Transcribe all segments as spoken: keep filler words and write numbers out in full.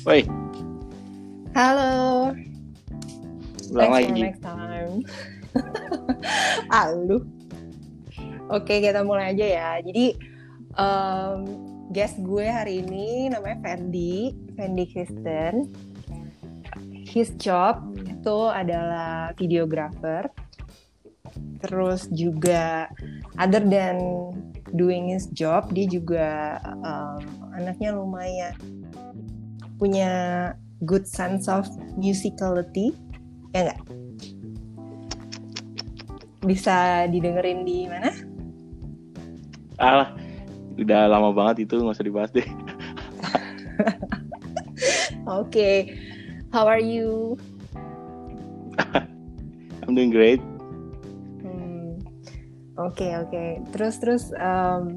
Woi, Halo, ulang thanks for lagi. next time. Halo. Oke, kita mulai aja ya. Jadi, um, guest gue hari ini namanya Fendi, Fendi Kristen. His job itu adalah videographer. Terus juga, other than doing his job, dia juga um, anaknya lumayan punya good sense of musicality, ya nggak? Bisa didengerin di mana? Alah, udah lama banget itu, nggak usah dibahas deh. Oke, okay. How are you? I'm doing great. Hmm. Oke okay, oke. Okay. Terus terus, um,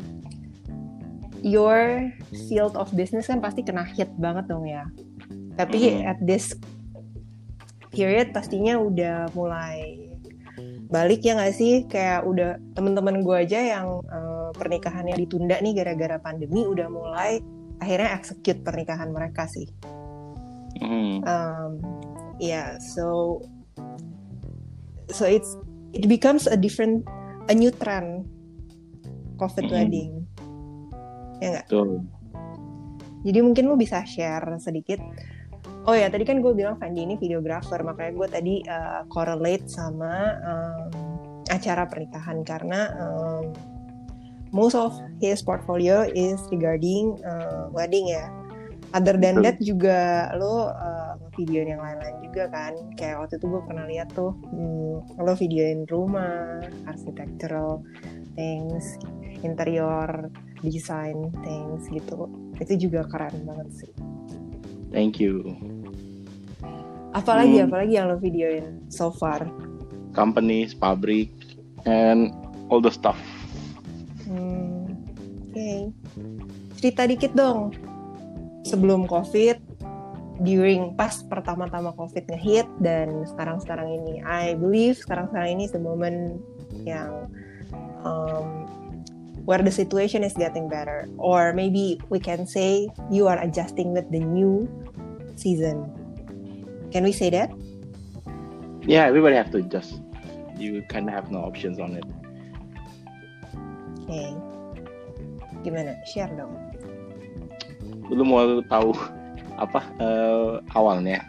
your field of business kan pasti kena hit banget dong ya. Tapi mm. at this period pastinya udah mulai balik ya nggak sih? Kayak udah teman-teman gue aja yang uh, pernikahannya ditunda nih gara-gara pandemi udah mulai akhirnya execute pernikahan mereka sih. Mm. Um, yeah, so so it's it becomes a different a new trend COVID mm. wedding, ya nggak? Tuh. Jadi mungkin lu bisa share sedikit. Oh ya, tadi kan gue bilang Fendi ini videographer, makanya gue tadi uh, correlate sama um, acara pernikahan karena um, most of his portfolio is regarding uh, wedding ya. Other than that juga lo uh, videoin yang lain-lain juga kan. Kayak waktu itu gue pernah lihat tuh, hmm, lo videoin rumah, architectural things, interior design things gitu. Itu juga keren banget sih. Thank you. Apalagi, hmm. apalagi yang lo videoin so far? Companies, pabrik, and all the stuff. Hmm, Oke. Okay. Cerita dikit dong. Sebelum COVID, during pas pertama-tama COVID nge-hit, dan sekarang-sekarang ini. I believe sekarang-sekarang ini is the moment yang um, where the situation is getting better. Or maybe we can say you are adjusting with the new season. Can we say that? Yeah, everybody have to adjust. You kind of have no options on it. Oke. Okay. Gimana? Share dong. Lu mau tahu apa uh, awalnya?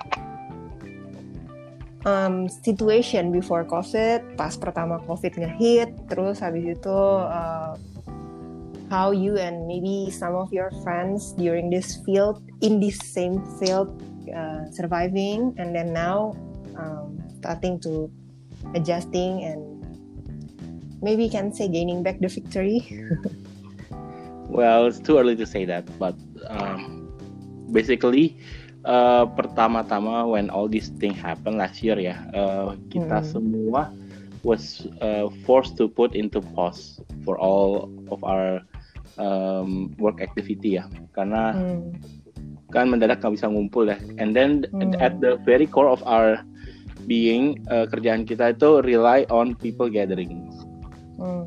Um, situation before COVID, pas pertama COVID nge-hit, terus habis itu uh, how you and maybe some of your friends during this field, in this same field, uh, surviving, and then now um, starting to adjusting and maybe can say gaining back the victory. Well, it's too early to say that, but um, basically uh, pertama-tama when all these things happen last year ya, uh, kita hmm. semua was uh, forced to put into pause for all of our um, work activity ya, karena hmm. kan mendadak nggak bisa ngumpul ya, and then hmm. at the very core of our being, uh, kerjaan kita itu rely on people gathering. Hmm.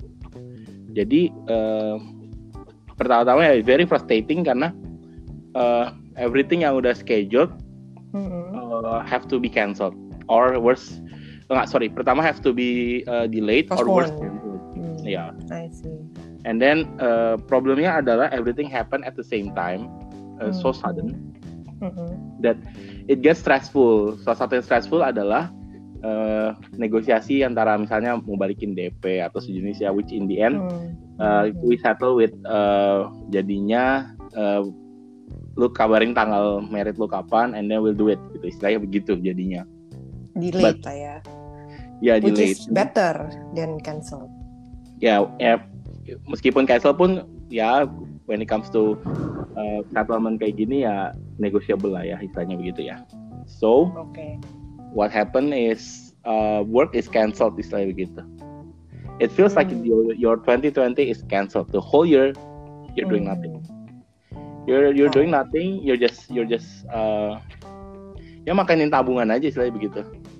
Jadi uh, pertama-tama ya very frustrating karena uh, everything yang udah scheduled mm-hmm. uh, have to be cancelled or worse, enggak sorry, pertama have to be uh, delayed Postpone. or worse cancelled. Mm. Yeah. I see. And then uh, problemnya adalah everything happen at the same time, uh, mm-hmm. so sudden mm-hmm. that it gets stressful. Salah satu yang stressful adalah uh, negosiasi antara misalnya mau balikin D P atau sejenis ya, which in the end mm-hmm. Uh, we settle with uh, jadinya uh, lu kabarin tanggal merit lu kapan and then we'll do it gitu, istilahnya begitu jadinya. Delayed lah ya. Ya, yeah, delayed. Which is better than cancel. Ya, yeah, yeah, meskipun cancel pun ya when it comes to uh, settlement kayak gini ya negotiable lah ya, istilahnya begitu ya. So, okay. What happened is uh, work is cancelled, istilahnya begitu. It feels mm. like your, your twenty twenty is cancelled. The whole year you're doing mm. nothing. You're you're oh. doing nothing. You're just you're just uh, ya makanin tabungan aja, istilahnya begitu.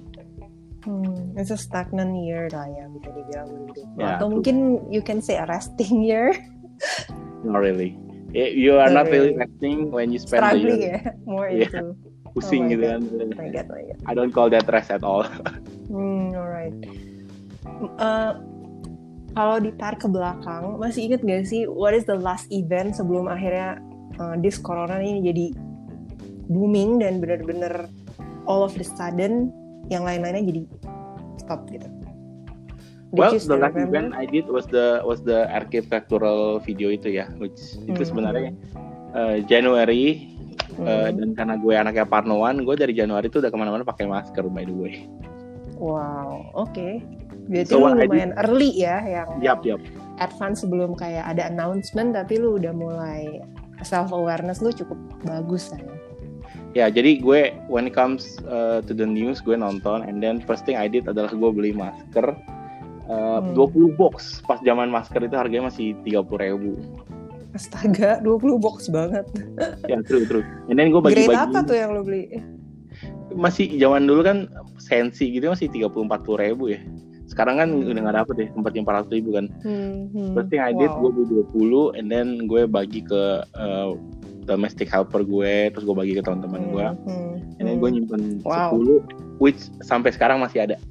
Hmm, it's a stagnant year lah ya, bisa dibilang begitu. Yeah, atau true. Mungkin you can say a resting year. Not really. You are not Sorry. really resting when you spend Struggling the year. ya, more Yeah. into. Pusing Oh my gitu God. kan. Oh my God, oh my God. I don't call that rest at all. Hmm, alright. Uh, kalau ditarik ke belakang, masih inget gak sih what is the last event sebelum akhirnya uh, this corona ini jadi booming dan benar-benar all of the sudden yang lain-lainnya jadi stop gitu. Did Well, you the still last remember? event I did was the was the architectural video itu ya, which itu Hmm, sebenarnya uh, Januari. hmm. Uh, dan karena gue anaknya parnoan, gue dari Januari tuh udah kemana-mana pakai masker by the way. Wow, oke. Okay. Berarti So lu what I lumayan early ya, yang Yap, yap. advance sebelum kayak ada announcement, tapi lu udah mulai self awareness lu cukup bagus kan. Ya, jadi gue when it comes uh, to the news, gue nonton, and then first thing I did adalah gue beli masker uh, Hmm. dua puluh box. Pas zaman masker itu harganya masih tiga puluh ribu. Astaga, dua puluh box banget. Ya, true, true. And then gue Grade bagi-bagi. apa tuh yang lu beli? Masih zaman dulu kan sensi gitu masih tiga puluh sampai empat puluh ribu ya. Sekarang kan Hmm. udah nggak dapet deh, sempat yang empat ratus ribu kan. Hmm, hmm. First thing I did, gue Wow. beli dua puluh, and then gue bagi ke uh, domestic helper gue, terus gue bagi ke teman-teman gue, Hmm, hmm, and then gue hmm. nyimpen Wow. sepuluh, which sampai sekarang masih ada.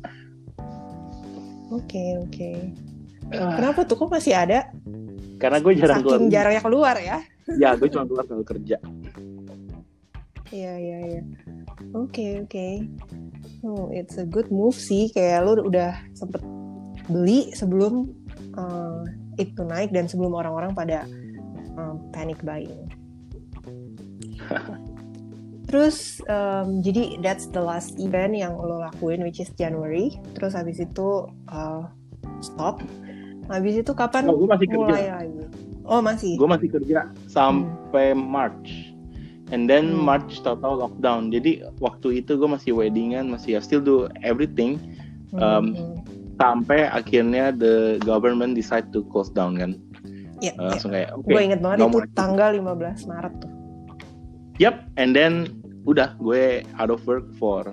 Oke, oke. Ah, Kenapa tuh kok masih ada? karena gue jarang keluar. Saking jarangnya keluar ya. Ya, gue cuma keluar kalau kerja. Iya, iya, iya. Oke, oke. Oh, it's a good move sih. Kayak lu udah sempet beli sebelum uh, itu naik dan sebelum orang-orang pada um, panic buying. Terus um, jadi that's the last event yang lo lakuin, which is January. Terus habis itu uh, stop. Habis itu kapan Oh, gue masih kerja. mulai lagi? Oh masih. Gue masih kerja sampai March. And then Hmm. March tahu-tahu lockdown. Jadi waktu itu gue masih weddingan, masih still do everything. Um, Hmm. Sampai akhirnya the government decide to close down kan. Ya, Uh, langsung kayak oke. gue inget banget no itu more. tanggal lima belas Maret tuh. Yep, and then udah gue out of work for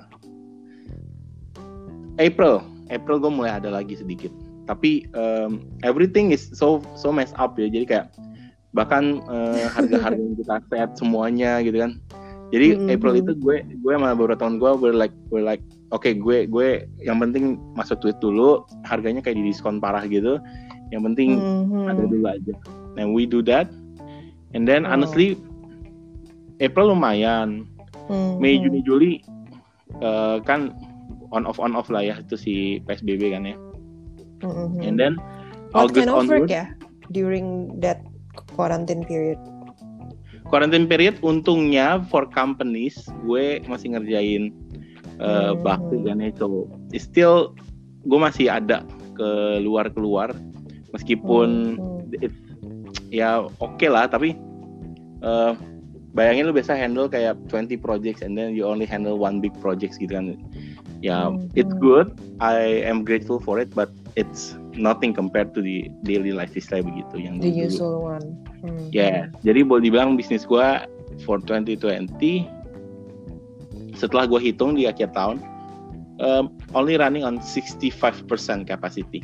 April. April gue mulai ada lagi sedikit. Tapi um, everything is so so messed up ya. Jadi kayak bahkan uh, harga-harga yang kita set semuanya gitu kan. Jadi Mm-hmm. April itu gue gue sama beberapa teman gue we're like we're like oke okay, gue gue yang penting masuk tweet dulu, harganya kayak di diskon parah gitu. Yang penting Mm-hmm. ada dulu aja. And we do that. And then Oh. honestly April lumayan. Mm-hmm. Mei, Juni, Juli uh, kan on off on off lah ya itu si P S B B kan ya. Mm-hmm. And then What August kind of work onward, ya during that quarantine period? quarantine period untungnya for companies gue masih ngerjain uh, Hmm. bakti kan ya. So still gue masih ada keluar keluar meskipun Hmm. it, ya oke okay lah tapi uh, bayangin lu biasa handle kayak twenty projects and then you only handle one big projects gitu kan. Ya, Hmm. it's good. I am grateful for it, but it's nothing compared to the daily life style begitu yang The dulu. usual one. Hmm. Ya, jadi boleh dibilang bisnis gue for twenty twenty setelah gue hitung di akhir tahun um, only running on sixty-five percent capacity.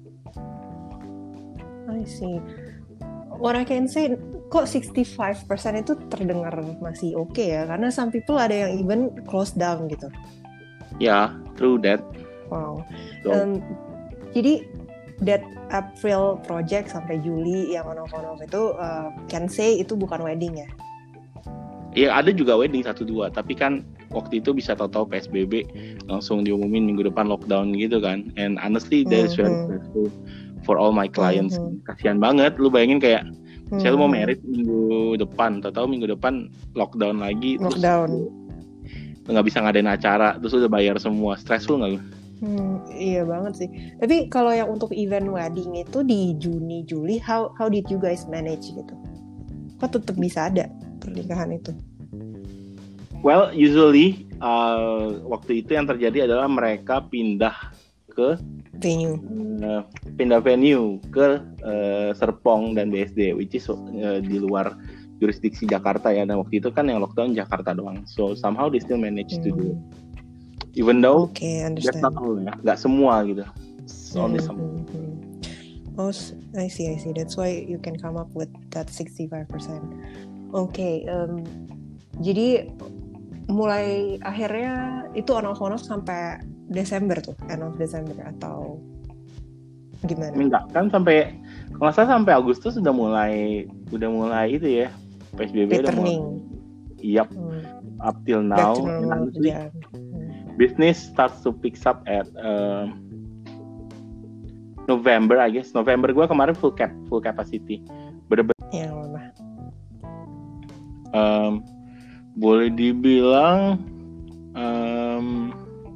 I see. What I can say, kok sixty-five percent itu terdengar masih oke okay ya? Karena some people ada yang even close down gitu. Ya, true that. Wow. So, Um, jadi that April project sampai Juli yang on off on off itu uh, can say itu bukan wedding ya? ya ada juga wedding satu dua, tapi kan waktu itu bisa tahu-tahu P S B B langsung diumumin minggu depan lockdown gitu kan. And honestly, that is very Mhm. stressful for all my clients. Mhm. Kasian banget, lu bayangin kayak Hmm. saya lu mau merit minggu depan, tahu-tahu minggu depan lockdown lagi, Lockdown. terus lu nggak bisa ngadain acara, terus udah bayar semua, stressful nggak lu? Hmm, iya banget sih. Tapi kalau yang untuk event wedding itu di Juni Juli, how how did you guys manage gitu? Kok tetap bisa ada pernikahan itu? Well, usually uh, waktu itu yang terjadi adalah mereka pindah ke Venue. uh, pindah venue ke uh, Serpong dan B S D, which is uh, di luar jurisdiksi Jakarta ya. Dan waktu itu kan yang lockdown Jakarta doang. So somehow they still manage to do it. Even though Oke, okay, that's understand. not all ya, nggak semua gitu. It's only Hmm, some. hmm, hmm. Oh, I see, I see. That's why you can come up with that sixty-five percent. Oke, okay, um, jadi mulai akhirnya itu on off on off sampai Desember tuh, end of Desember atau gimana? Enggak, kan sampai kalau nggak salah sampai Agustus sudah mulai udah mulai itu ya P S B B udah mulai. Yep, hmm. Up till now, honestly, yeah. hmm. business starts to pick up at uh, November, I guess. November gue kemarin full cap, full capacity. Bener-bener. Ya, mana? Um, boleh dibilang, um,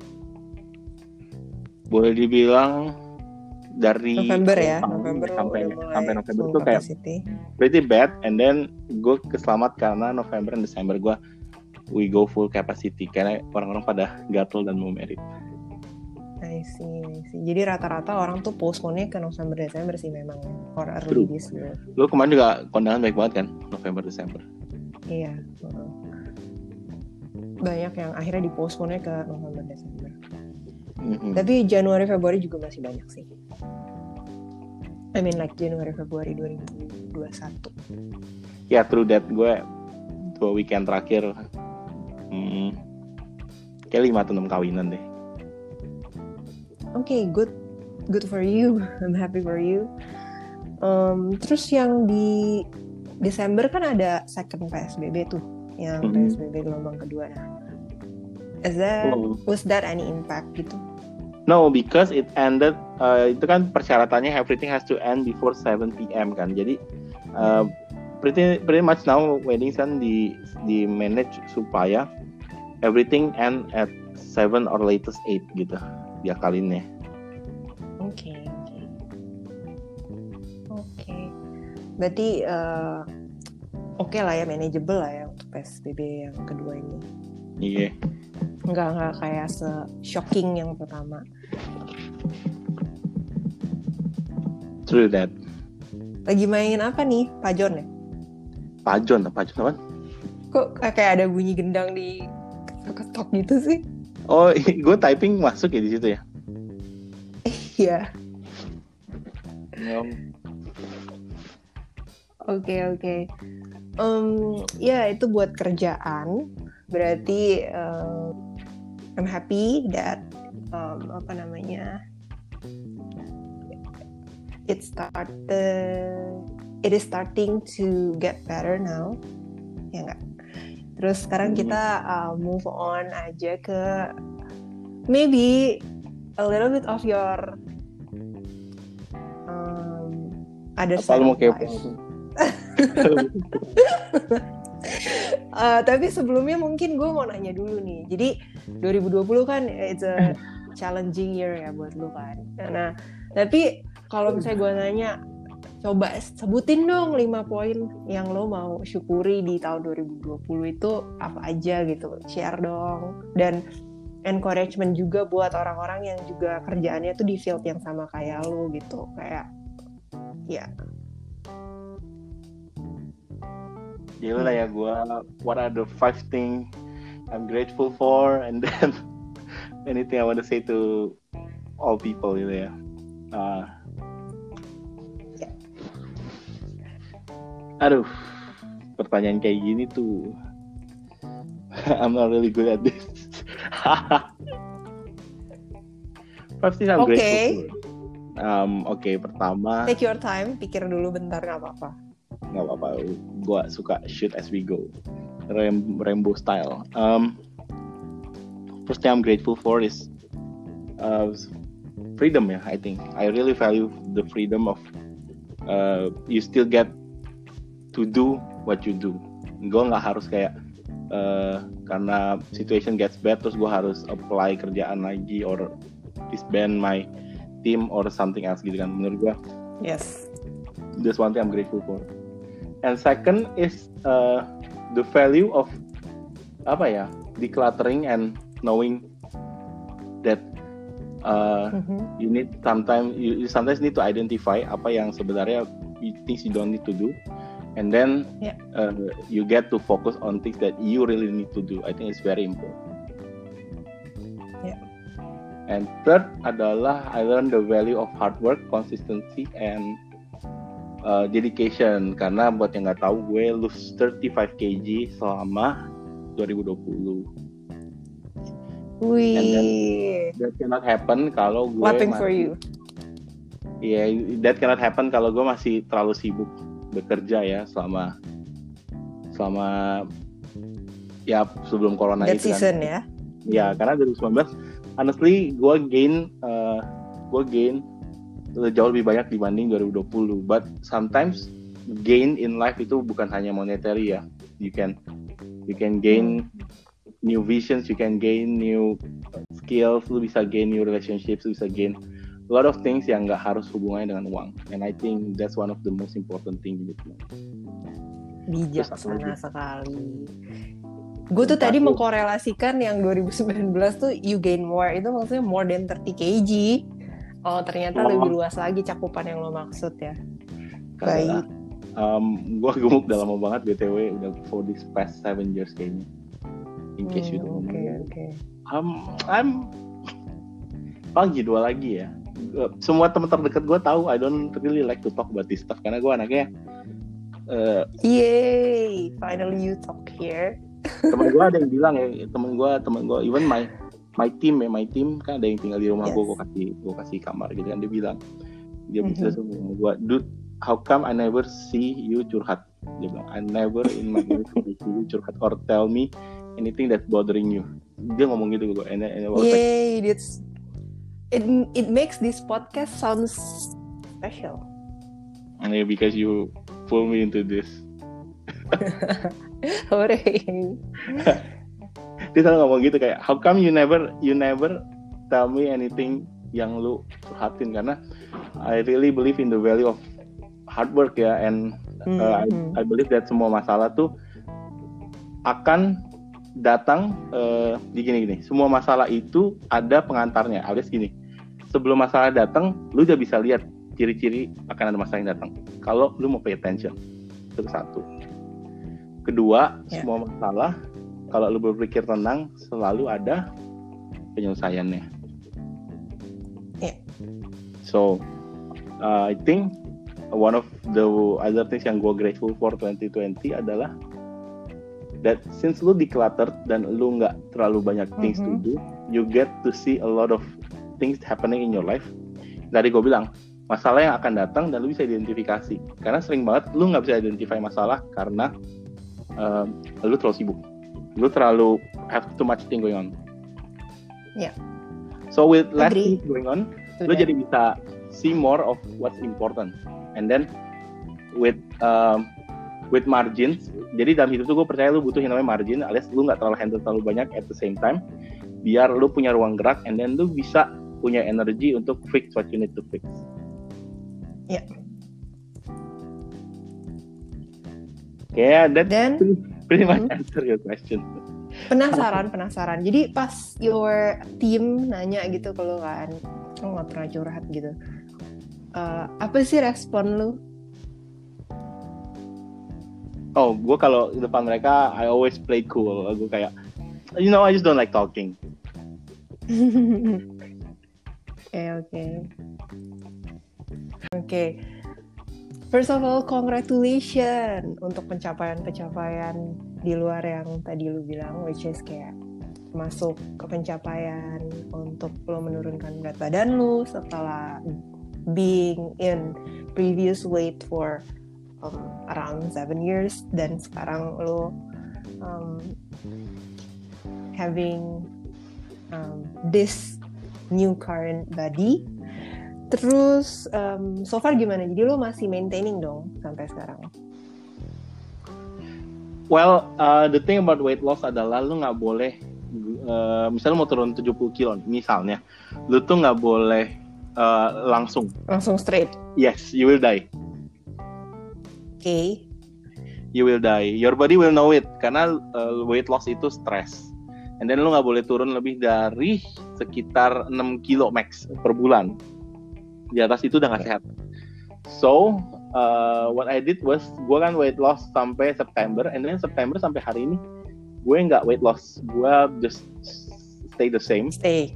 boleh dibilang dari November ya, November sampai sampai November itu kayak pretty bad, and then gue keselamat karena November dan Desember gue we go full capacity karena orang-orang pada gatel dan mau merit. I see, I see. Jadi rata-rata orang tuh postpone-nya ke November Desember sih memang or early this year. Lo kemarin juga kondangan baik banget kan November Desember. Iya. Banyak yang akhirnya di-postpone-nya ke November Desember. Mm-hmm. Tapi Januari Februari juga masih banyak sih. I mean like Januari Februari dua ribu dua puluh satu. Ya, yeah, true that. Gue dua weekend terakhir hmm, kayak lima atau enam kawinan deh. Oke, okay, good, good for you. I'm happy for you. Um, terus yang di Desember kan ada second P S B B tuh, yang mm-hmm. P S B B gelombang kedua. Nah, is that oh. was that any impact gitu? No, because it ended. Uh, itu kan persyaratannya everything has to end before seven p.m. kan. Jadi uh, pretty pretty much now weddings kan di di manage supaya everything end at seven or latest eight gitu. Dia kalinnya. Oke, okay, oke. Okay. Oke. Okay. Berarti uh, oke okay lah ya, manageable lah ya untuk P S B B yang kedua ini. Iya. Yeah. Enggak enggak kayak se-shocking yang pertama. True that. Lagi main apa nih? Pajon ya? Pajon, pajon apa? Kok kayak ada bunyi gendang di ketok gitu sih? Oh, gue typing masuk ya di situ ya? Iya. Oke, oke. Um, ya, itu buat kerjaan. Berarti um, I'm happy that um, apa namanya? It started it is starting to get better now. Ya enggak? Terus sekarang kita uh, move on aja ke maybe a little bit of your um, other side of life. uh, tapi sebelumnya mungkin gue mau nanya dulu nih. Jadi dua ribu dua puluh kan it's a challenging year ya buat lu kan. Nah, tapi kalau misalnya gue nanya, coba sebutin dong lima poin yang lo mau syukuri di tahun dua ribu dua puluh itu apa aja gitu. Share dong. Dan encouragement juga buat orang-orang yang juga kerjaannya tuh di field yang sama kayak lo gitu. Kayak, ya. Gila lah ya gue, what are the five things I'm grateful for, and then anything I want to say to all people gitu ya. Uh, Aduh, pertanyaan kayak gini tuh I'm not really good at this. First thing I'm okay. grateful for. Um, Oke, okay, pertama. Take your time, pikir dulu bentar, nggak apa-apa. Nggak apa-apa, gue suka shoot as we go, Rain- rainbow style. Um, first thing I'm grateful for is uh, freedom ya. I think I really value the freedom of uh, you still get to do what you do. Gue nggak harus kayak uh, karena situation gets bad terus gue harus apply kerjaan lagi or disband my team or something else gitu kan. Menurut gue, yes, that's one thing I'm grateful for. And second is uh, the value of apa ya, decluttering and knowing that uh, mm-hmm. you need sometimes you, you sometimes need to identify apa yang sebenarnya things you don't need to do. And then yeah. uh, you get to focus on things that you really need to do. I think it's very important. Yeah. And third adalah I learned the value of hard work, consistency, and uh, dedication. Karena buat yang nggak tahu, gue lose thirty-five kilograms selama dua ribu dua puluh. Wih. And then that cannot happen kalau gue Clapping masih, for you. Yeah, that cannot happen kalau gue masih terlalu sibuk bekerja ya selama selama ya sebelum corona That itu season kan. ya. Ya, karena dua ribu sembilan belas honestly gue gain uh, gue gain jauh lebih banyak dibanding dua ribu dua puluh. But sometimes gain in life itu bukan hanya monetary ya. You can you can gain new visions, you can gain new skills, lu bisa gain new relationships, lu bisa gain a lot of things yang nggak harus hubungannya dengan uang. And I think that's one of the most important thing gitu. Bijaksana sekali. Gue tuh tadi mengkorelasikan yang dua ribu sembilan belas tuh you gain more, itu maksudnya more than thirty kilograms. Oh ternyata oh. lebih luas lagi cakupan yang lo maksud ya. Baik. Um, gue gemuk udah lama banget B T W, udah for this past seven years kayaknya. In case hmm, you don't okay, know. Okay. Um, I'm pagi dua lagi ya. Semua teman terdekat gue tahu I don't really like to talk about this stuff karena gue anaknya. Uh, Yay! Finally you talk here. Temen gue ada yang bilang ya, temen gue, temen gue, even my my team ya, my team kan ada yang tinggal di rumah yes. gue, gue kasih, gue kasih kamar gitu kan, dia bilang, dia mm-hmm. bisa sama gue, dude, how come I never see you curhat? Dia bilang, I never in my life see you curhat or tell me anything that's bothering you. Dia ngomong gitu ke gue, and, and I was Yay, like, it's it it makes this podcast sounds special. And yeah, because you pull me into this. Hooray. Dia selalu ngomong gitu kayak, how come you never you never tell me anything yang lu curhatin, karena I really believe in the value of hard work ya, and uh, mm-hmm. I, I believe that semua masalah tuh akan datang uh, di gini-gini. Semua masalah itu ada pengantarnya, alias gini. Sebelum masalah datang, lu udah bisa lihat ciri-ciri akan ada masalah yang datang. Kalau lu mau pay attention, itu satu. Kedua, yeah. semua masalah kalau lu berpikir tenang selalu ada penyelesaiannya. Yeah. So, uh, I think one of the other things yang gue grateful for twenty twenty adalah that since lu decluttered dan lu nggak terlalu banyak things mm-hmm. to do, you get to see a lot of things happening in your life. Tadi gue bilang, masalah yang akan datang dan lu bisa identifikasi. Karena sering banget lu nggak bisa identify masalah karena Uh, lu terlalu sibuk, lu terlalu have too much thing going on. Yeah. So with less things going on, Sudah. lu jadi bisa see more of what's important. And then with um, with margins, jadi dalam hidup tuh gue percaya lu butuh yang namanya margin, alias lu nggak terlalu handle terlalu banyak at the same time, biar lu punya ruang gerak, and then lu bisa punya energy untuk fix what you need to fix. Yeah. Yeah, that Then, pretty, pretty much mm-hmm. answer your question. Penasaran, penasaran. Jadi pas your team nanya gitu ke lu kan, lu nggak pernah curhat gitu. Uh, apa sih respon lu? Oh, gue kalau depan mereka, I always play cool. Gue kayak, you know, I just don't like talking. Oke, oke. Oke. First of all, congratulations untuk pencapaian-pencapaian di luar yang tadi lu bilang, which is kayak masuk ke pencapaian untuk lo menurunkan berat badan lu setelah being in previous weight for um, around seven years, dan sekarang lo um, having um, this new current body. Terus um, so far gimana? Jadi lo masih maintaining dong sampai sekarang? Well, uh, the thing about weight loss adalah lo nggak boleh, uh, misalnya mau turun tujuh puluh kilo, misalnya, lo tuh nggak boleh uh, langsung. Langsung straight? Yes, you will die. Oke. Okay. You will die. Your body will know it, karena uh, weight loss itu stress. And then lo nggak boleh turun lebih dari sekitar enam kilo max per bulan. Di atas itu udah gak sehat. So, uh, what I did was, gue kan weight loss sampai September, and then September sampai hari ini, gue gak weight loss. Gue just stay the same. Stay.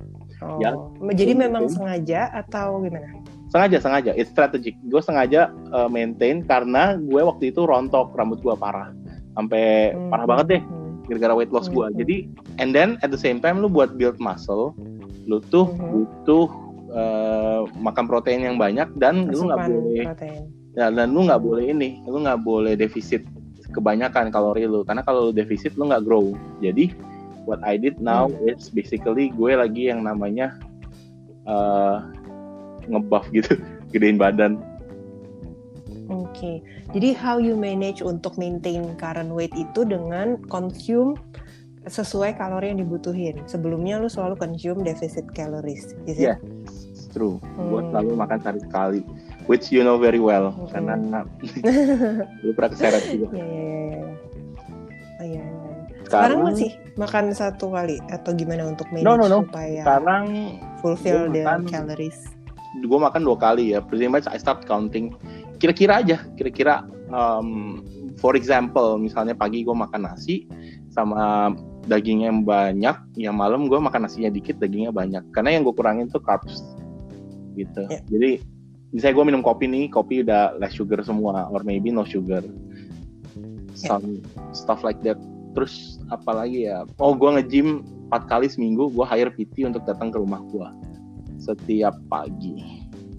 Oh, Ya, jadi gue memang maintain. sengaja atau gimana? Sengaja, sengaja. It's strategic. Gue sengaja uh, maintain karena gue waktu itu rontok, rambut gue parah. Sampai Hmm, parah banget deh. hmm, Gara-gara weight loss gue. hmm, Jadi, and then at the same time lu buat build muscle, lu tuh hmm. butuh uh, makan protein yang banyak dan lu nggak Asupan boleh, protein. ya, dan lu nggak boleh ini, lu nggak boleh defisit kebanyakan kalori lu. Karena kalau lu defisit lu nggak grow. Jadi, what I did now Hmm. is basically gue lagi yang namanya uh, ngebuff gitu, gedein badan. Oke, okay. Jadi how you manage untuk maintain current weight itu dengan consume sesuai kalori yang dibutuhin. Sebelumnya lu selalu consume deficit calories, is it? Yeah, it's true. Hmm. Gue selalu makan sehari sekali, which you know very well, Hmm. karena lu pernah keseret juga. Iya, iya, iya. Oh, iya, iya. Sekarang, Sekarang masih makan satu kali atau gimana untuk manage no no no. supaya Sekarang fulfill the makan, calories? Gue makan dua kali ya. Pretty much I start counting. Kira-kira aja. Kira-kira, um, for example, misalnya pagi gue makan nasi sama dagingnya yang banyak, yang malam gue makan nasinya dikit, dagingnya banyak. Karena yang gue kurangin tuh carbs, gitu. Yeah. Jadi misalnya gue minum kopi nih, kopi udah less sugar semua, or maybe no sugar. Some yeah. stuff like that. Terus apalagi ya, oh gue nge-gym empat kali seminggu, gue hire P T untuk datang ke rumah gue setiap pagi.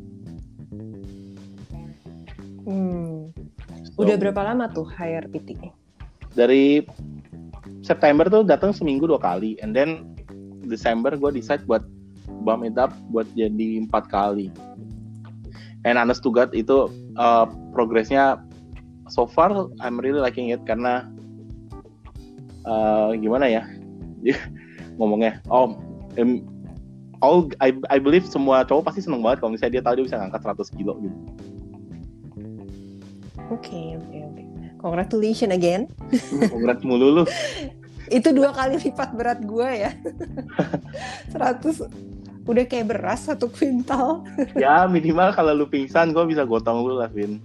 Hmm. So, udah berapa lama tuh hire P T? Dari September tuh datang seminggu dua kali, and then Desember gue decide buat bump it up buat jadi empat kali. And honest to God itu uh, progresnya so far I'm really liking it karena Uh, gimana ya ngomongnya, oh um, all I I believe semua cowok pasti seneng banget kalau misalnya dia tahu dia bisa ngangkat seratus kilo gitu. Oke oke oke. Congratulations again. Congrats mulu lu. Itu dua kali lipat berat gue ya. seratus udah kayak beras satu kuintal. Ya minimal kalau lu pingsan gue bisa gotong lu lah, Vin.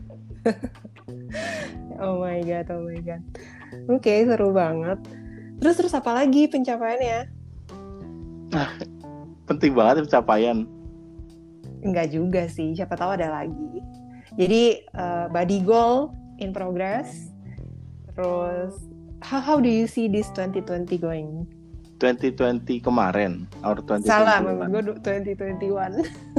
Oh my god, oh my god. Oke, okay, seru banget. Terus terus apa lagi pencapaiannya? Nah, penting banget pencapaian. Enggak juga sih, siapa tahu ada lagi. Jadi uh, body goal in progress. Terus how how do you see this twenty twenty going? twenty twenty kemarin or twenty twenty-one? Salah, menurut gue twenty twenty-one.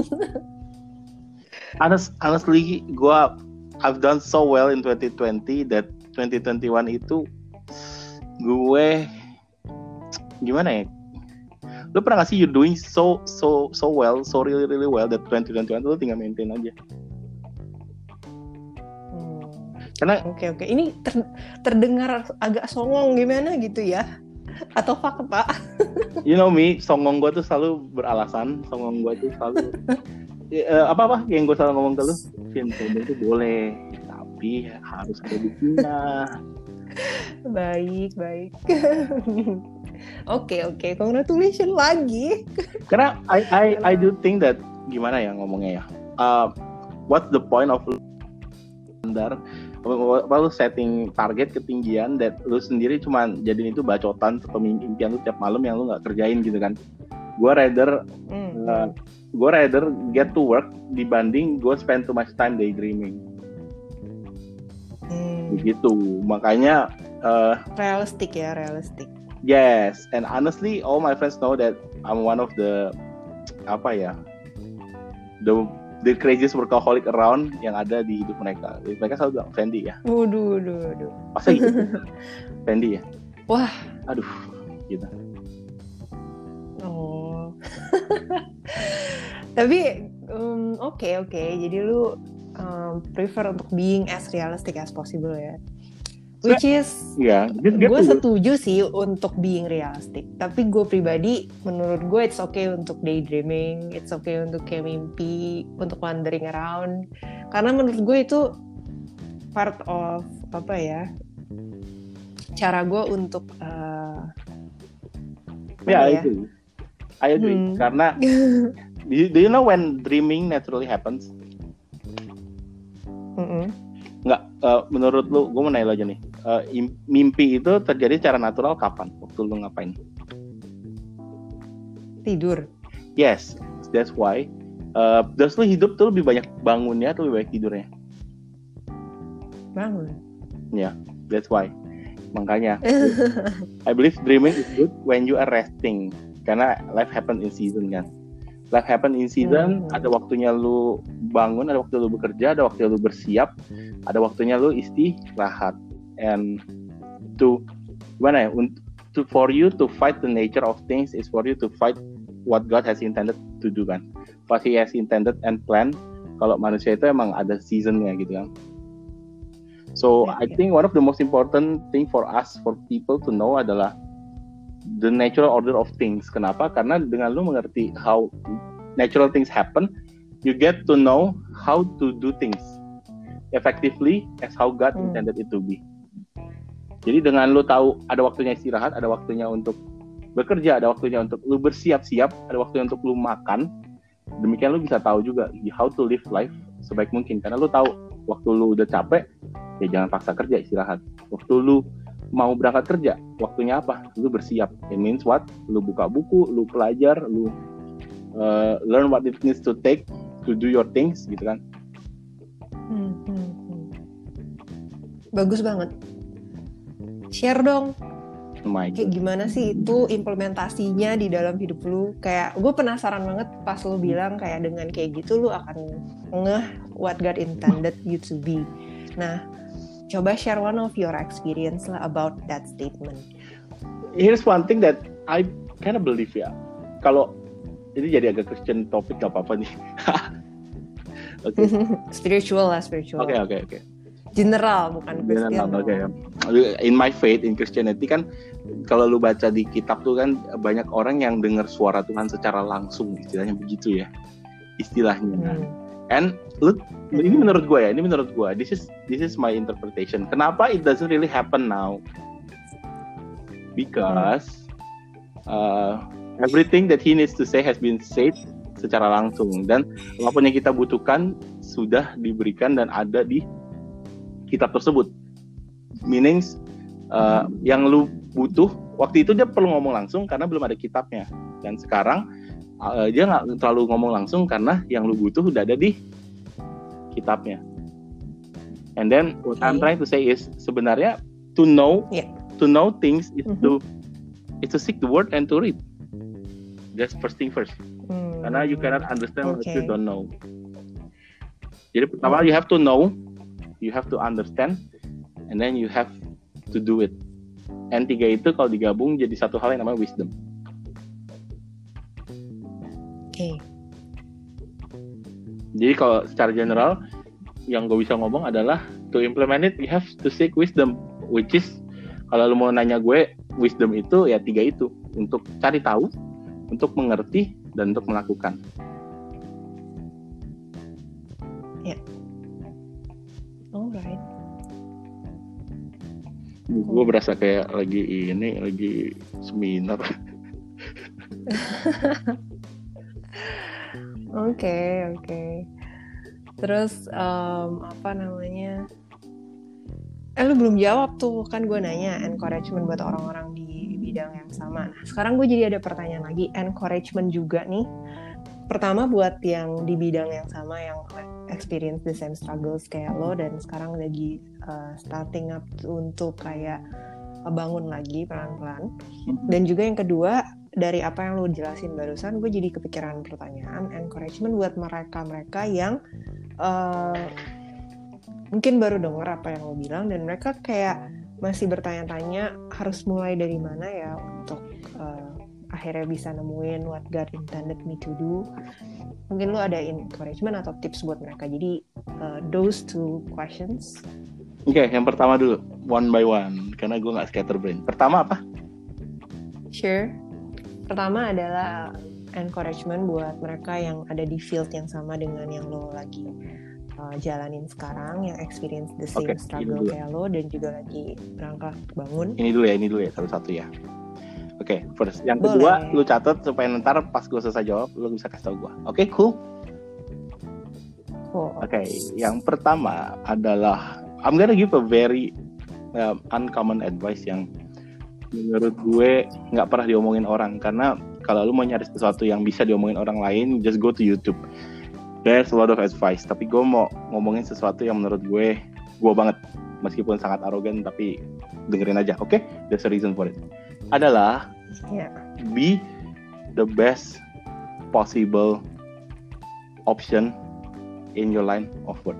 Honest, honestly, gue I've done so well in twenty twenty that twenty twenty-one itu gue gimana ya? Lu pernah gak sih you doing so so so well, so really really well that twenty twenty-one lu tinggal maintain aja. Hmm. Karena oke oke, ini ter, terdengar agak songong gimana gitu ya? Atau fakta? You know me, songong gue tuh selalu beralasan, songong gue tuh selalu uh, apa-apa yang gue selalu ngomong ke lu, Vin, sombong tuh boleh, tapi harus ada buktinya. Baik, baik. Oke, oke. Congratulations lagi. Karena I I I do think that gimana ya ngomongnya ya. Uh, what's the point of standar lu setting target ketinggian that lu sendiri cuma jadiin itu bacotan atau impian lu tiap malam yang lu nggak kerjain gitu kan. Gue rather mm. uh, gue rather get to work dibanding gue spend too much time daydreaming. Hmm. Begitu, makanya uh, realistic ya, realistic. Yes, and honestly, all my friends know that I'm one of the apa ya, the the craziest workaholic around yang ada di hidup mereka. Mereka selalu bilang Fendi ya. Waduh, waduh, waduh. Masa gitu? Fendi ya. Wah, aduh, gitu. Oh. Tapi um, oke okay, oke, okay. Jadi lu um, prefer untuk being as realistic as possible ya. Which is, yeah, gue setuju sih untuk being realistic. Tapi gue pribadi, menurut gue it's okay untuk daydreaming, it's okay untuk kayak mimpi, untuk wandering around. Karena menurut gue itu part of apa ya, cara gue untuk uh, yeah, ya? I agree. I agree. Hmm. Karena do you, do you know when dreaming naturally happens? Mm-mm. Nggak, uh, menurut lu, gue mau nanya aja nih, uh, mimpi itu terjadi secara natural kapan? Waktu lu ngapain? Tidur. Yes, that's why. Uh, terus lu hidup tuh lebih banyak bangunnya atau lebih banyak tidurnya? Bangun. Ya, yeah, that's why. Makanya, I believe dreaming is good when you are resting. Karena life happen in season kan. Life happen in season, hmm. ada waktunya lu bangun, ada waktu lu bekerja, ada waktu lu bersiap, ada waktunya lu istirahat. And to, gimana ya, to, for you to fight the nature of things is for you to fight what God has intended to do kan. What He has intended and planned. Kalau manusia itu emang ada seasonnya gitu kan. So yeah, I yeah. think one of the most important thing for us, for people to know adalah the natural order of things. Kenapa? Karena dengan lu mengerti how natural things happen, you get to know how to do things effectively as how God hmm. intended it to be. Jadi dengan lu tahu ada waktunya istirahat, ada waktunya untuk bekerja, ada waktunya untuk lu bersiap-siap, ada waktunya untuk lu makan. Demikian lu bisa tahu juga how to live life sebaik mungkin. Karena lu tahu waktu lu udah capek, ya jangan paksa kerja, istirahat. Waktu lu mau berangkat kerja, waktunya apa? Lu bersiap. It means what? Lu buka buku, lu belajar, lu uh, learn what it needs to take to do your things, gitu kan? Hmm, hmm, hmm. Bagus banget. Share dong. Oh kayak gimana sih itu implementasinya di dalam hidup lu? Kayak gue penasaran banget pas lu bilang kayak dengan kayak gitu lu akan ngeh what God intended you to be. Nah, coba share one of your experience lah about that statement. Here's one thing that I kind of believe ya. Kalau ini jadi agak Christian topik gak apa-apa nih. Okay. Spiritual lah, spiritual. Oke, okay, oke, okay, oke. Okay. General, bukan Christian. General, oke. Okay. In my faith, in Christianity kan, kalau lu baca di kitab tuh kan banyak orang yang dengar suara Tuhan secara langsung, istilahnya begitu ya, istilahnya. Hmm. And lu, hmm. ini menurut gue ya, ini menurut gue. This is this is my interpretation. Kenapa it doesn't really happen now? Because hmm. uh, everything that he needs to say has been said secara langsung, dan apapun yang kita butuhkan sudah diberikan dan ada di kitab tersebut. Meaning uh, yang lu butuh waktu itu dia perlu ngomong langsung karena belum ada kitabnya, dan sekarang uh, dia nggak terlalu ngomong langsung karena yang lu butuh udah ada di kitabnya. And then what okay. I'm trying to say is sebenarnya to know yeah. to know things is mm-hmm. to is to seek the word and to read. That's first thing first. Mm. Karena you cannot understand okay. what you don't know. Jadi pertama you have to know, you have to understand, and then you have to do it. And tiga itu kalau digabung jadi satu hal yang namanya wisdom. Oke. Okay. Jadi kalau secara general yang gue bisa ngomong adalah to implement it, you have to seek wisdom, which is kalau lu mau nanya gue, wisdom itu ya tiga itu, untuk cari tahu, untuk mengerti, dan untuk melakukan. Ya. Yeah. Alright. Gue berasa kayak lagi ini, lagi seminar. Oke, oke. Terus um, apa namanya? Eh lu belum jawab tuh, kan gue nanya encouragement buat orang-orang di bidang yang sama. Nah, sekarang gue jadi ada pertanyaan lagi, encouragement juga nih. Pertama buat yang di bidang yang sama, yang experience the same struggles kayak lo, dan sekarang lagi uh, starting up untuk kayak bangun lagi pelan-pelan. Dan juga yang kedua, dari apa yang lo jelasin barusan, gue jadi kepikiran pertanyaan encouragement buat mereka-mereka yang uh, mungkin baru dengar apa yang lo bilang, dan mereka kayak masih bertanya-tanya harus mulai dari mana ya untuk uh, akhirnya bisa nemuin what God intended me to do. Mungkin lo ada encouragement atau tips buat mereka. Jadi uh, those two questions. Oke, okay, yang pertama dulu, one by one, karena gue nggak scatterbrain. Pertama apa? Sure. Pertama adalah encouragement buat mereka yang ada di field yang sama dengan yang lo lagi uh, jalanin sekarang, yang experience the same okay, struggle kayak lo, dan juga lagi berangkat bangun. Ini dulu ya, ini dulu ya, satu-satu ya. Oke, okay, first. Yang Boleh. Kedua, lu catat supaya ntar pas gue selesai jawab, lu bisa kasih tau gue. Oke, okay, cool? Cool. Oke, okay, yang pertama adalah, I'm gonna give a very uh, uncommon advice yang menurut gue nggak pernah diomongin orang. Karena kalau lu mau nyari sesuatu yang bisa diomongin orang lain, just go to YouTube. There's a lot of advice. Tapi gue mau ngomongin sesuatu yang menurut gue, gue banget. Meskipun sangat arogan, tapi dengerin aja, oke? Okay? There's a reason for it. Adalah, yeah. be the best possible option in your line of work.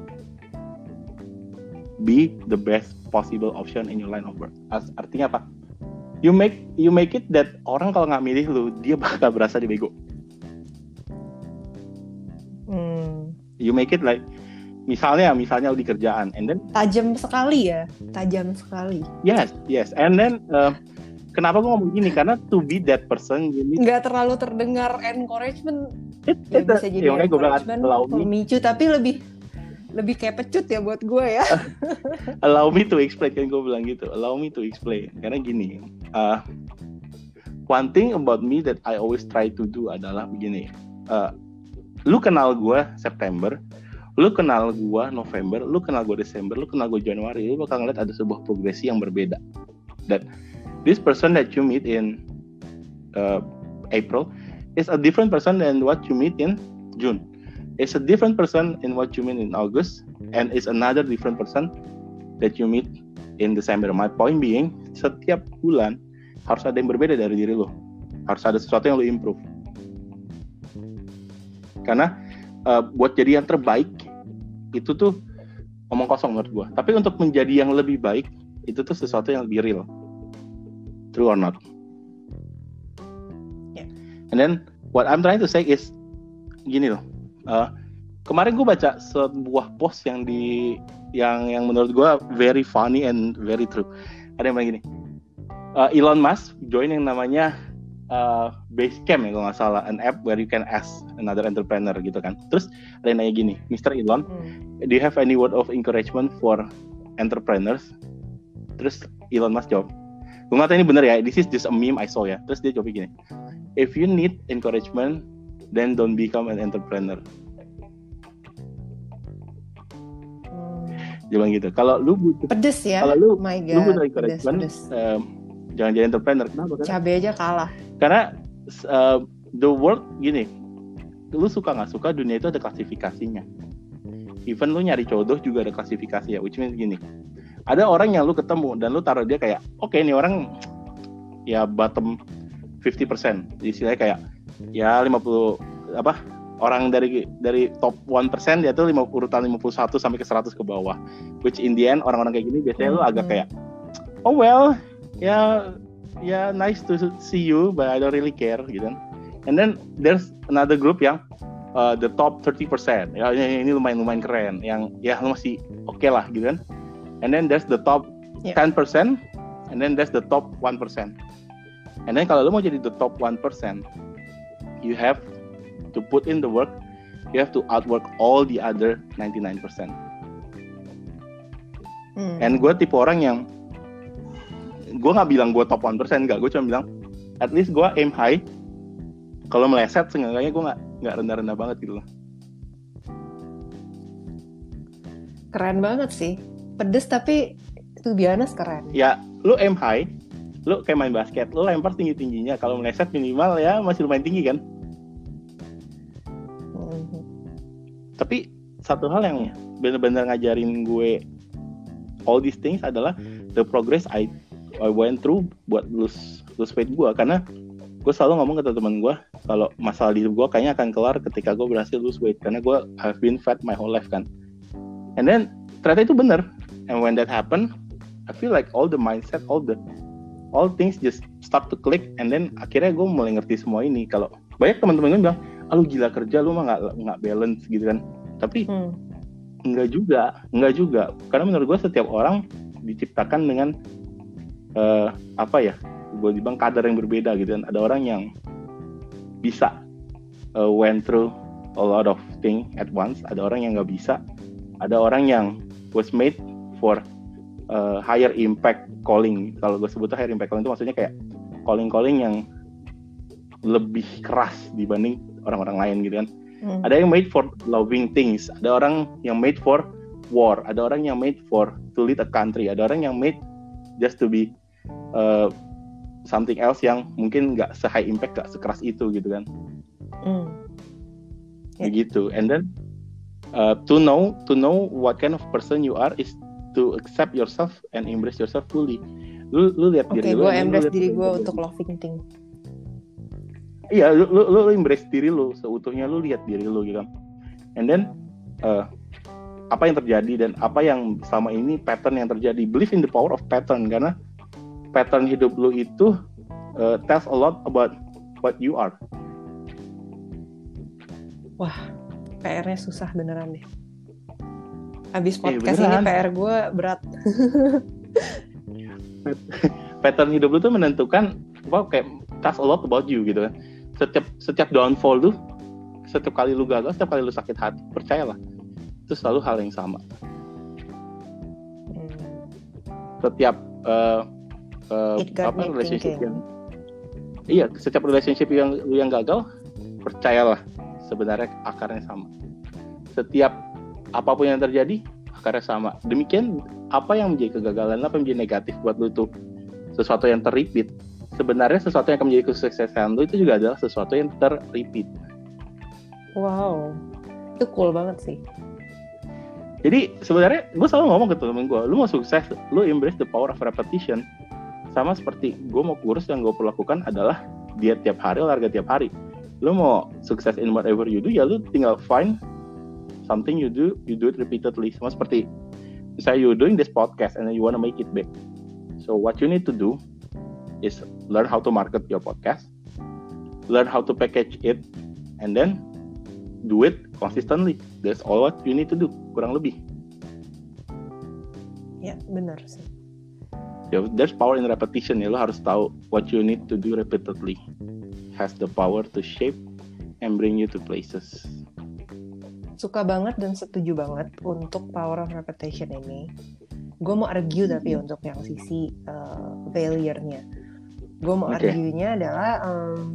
Be the best possible option in your line of work. Artinya apa? You make you make it that orang kalau nggak milih lu, dia bakal berasa dibego. Hmm. You make it like, misalnya, misalnya lu di kerjaan, and then tajam sekali ya, tajam sekali. Yes, yes, and then uh, kenapa gue ngomong gini? Karena to be that person, you need... nggak terlalu terdengar encouragement. It, ya it, bisa jadi ya, encouragement, pemicu, tapi lebih lebih kayak pecut ya buat gue ya. Allow me to explain, kan gue bilang gitu. Allow me to explain. Karena gini, uh, one thing about me that I always try to do adalah begini. Uh, lu kenal gue September, lu kenal gue November, lu kenal gue Desember, lu kenal gue Januari, lu bakal ngeliat ada sebuah progresi yang berbeda. That this person that you meet in uh, April is a different person than what you meet in June. It's a different person in what you meet in August, and it's another different person that you meet in December. My point being, setiap bulan harus ada yang berbeda dari diri lo. Harus ada sesuatu yang lo improve. Karena uh, buat jadi yang terbaik itu tuh omong kosong menurut gue. Tapi untuk menjadi yang lebih baik itu tuh sesuatu yang lebih real. True or not? Yeah. And then what I'm trying to say is gini loh. Uh, kemarin gue baca sebuah post yang di yang yang menurut gue very funny and very true. Ada yang bilang gini, uh, Elon Musk join yang namanya uh, Basecamp ya kalau nggak salah, an app where you can ask another entrepreneur gitu kan. Terus ada yang nanya gini, mister Elon, hmm. do you have any word of encouragement for entrepreneurs? Terus Elon Musk jawab, gue nggak tahu ini bener ya, this is just a meme I saw ya. Terus dia jawab gini, if you need encouragement, then don't become an entrepreneur. Hmm. Dia bilang gitu. Kalau lu butuh, pedes ya. Kalau lu, oh my God, lu butuh encouragement, um, jangan jadi entrepreneur. Kenapa? Karena, cabai aja kalah. Karena uh, the world gini, lu suka nggak suka dunia itu ada klasifikasinya. Even lu nyari jodoh juga ada klasifikasi ya. Which means gini, ada orang yang lu ketemu dan lu taruh dia kayak, oke okay, ini orang ya bottom fifty percent. Istilahnya kayak ya lima puluh apa orang dari dari top one percent dia tuh lima urutan lima puluh satu sampai ke seratus ke bawah, which in the end orang-orang kayak gini biasanya mm-hmm. lu agak kayak oh well ya yeah, ya yeah, nice to see you but I don't really care gitu kan. And then there's another group yang uh, the top thirty percent ya ini lumayan-lumayan keren yang ya lu masih oke okay lah gitu kan. And then there's the top yeah. ten percent and then there's the top one percent. And then kalau lu mau jadi the top one percent, you have to put in the work, you have to outwork all the other ninety-nine percent. Hmm. And gue tipe orang yang, gue gak bilang gue top one percent, gak, gue cuma bilang, at least gue aim high, kalau meleset, seenggaknya gue gak, gak rendah-rendah banget gitu loh. Keren banget sih, pedes tapi to be honest keren. Ya, lu aim high, lu kayak main basket, lu lempar tinggi-tingginya, kalau meleset minimal ya masih lumayan tinggi kan. Mm-hmm. Tapi satu hal yang benar-benar ngajarin gue all these things adalah the progress I I went through buat lose lose weight gue, karena gue selalu ngomong ke teman-teman gue kalau masalah di hidup gue kayaknya akan kelar ketika gue berhasil lose weight, karena gue have been fat my whole life kan. And then ternyata itu benar, and when that happen I feel like all the mindset, all the all things just start to click, and then akhirnya gue mulai ngerti semua ini. Kalau banyak teman-teman gue bilang, ah lu gila kerja, lu mah nggak nggak balance gitu kan. Tapi hmm. nggak juga, nggak juga. Karena menurut gue setiap orang diciptakan dengan uh, apa ya, gue bilang kadar yang berbeda gitu kan. Ada orang yang bisa uh, went through a lot of things at once. Ada orang yang nggak bisa. Ada orang yang was made for Uh, higher impact calling. Kalau gue sebutnya higher impact calling itu maksudnya kayak calling-calling yang lebih keras dibanding orang-orang lain gitu kan. Hmm. Ada yang made for loving things, ada orang yang made for war, ada orang yang made for to lead a country, ada orang yang made just to be uh, something else yang mungkin nggak se-high impact, nggak sekeras itu gitu kan. Mm. Yeah. Begitu. And then uh, to know to know what kind of person you are is to accept yourself and embrace yourself fully. Lu lu lihat okay, diri lu. Oke, gue embrace diri gue untuk loving thing. Iya, lu, lu lu embrace diri lu seutuhnya, lu lihat diri lu gitu kan. And then uh, apa yang terjadi dan apa yang selama ini pattern yang terjadi. Believe in the power of pattern, karena pattern hidup lu itu uh, tells a lot about what you are. Wah, P R-nya susah beneran deh. Abis podcast eh, ini P R gue berat. Pattern hidup lu tuh menentukan, wow, kayak tells a lot about you gitu kan. Setiap setiap downfall lu, setiap kali lu gagal, setiap kali lu sakit hati, percayalah, itu selalu hal yang sama. Hmm. Setiap uh, uh, apa relationship thinking. yang iya, setiap relationship yang lu yang gagal, percayalah, sebenarnya akarnya sama. Setiap apapun yang terjadi, akarnya sama. Demikian apa yang menjadi kegagalan, apa yang menjadi negatif buat lu itu sesuatu yang ter-repeat. Sebenarnya sesuatu yang akan menjadi kesuksesan lu itu juga adalah sesuatu yang ter-repeat. Wow, itu cool banget sih. Jadi sebenarnya gue selalu ngomong ke temen gue, lu mau sukses, lu embrace the power of repetition. Sama seperti gue mau kurus, yang gue perlakukan adalah diet tiap hari, olahraga tiap hari. Lu mau sukses in whatever you do, ya lu tinggal find something you do, you do it repeatedly. Sama seperti misalnya you doing this podcast and then you want to make it big. So what you need to do is learn how to market your podcast, learn how to package it, and then do it consistently. That's all what you need to do, kurang lebih. Ya, benar sih. Ya, there's power in repetition ya. Lo harus tahu what you need to do repeatedly. Has the power to shape and bring you to places. Suka banget dan setuju banget untuk power of repetition ini. Gue mau argue tapi untuk yang sisi uh, failure-nya. Gue mau okay. argue-nya adalah um,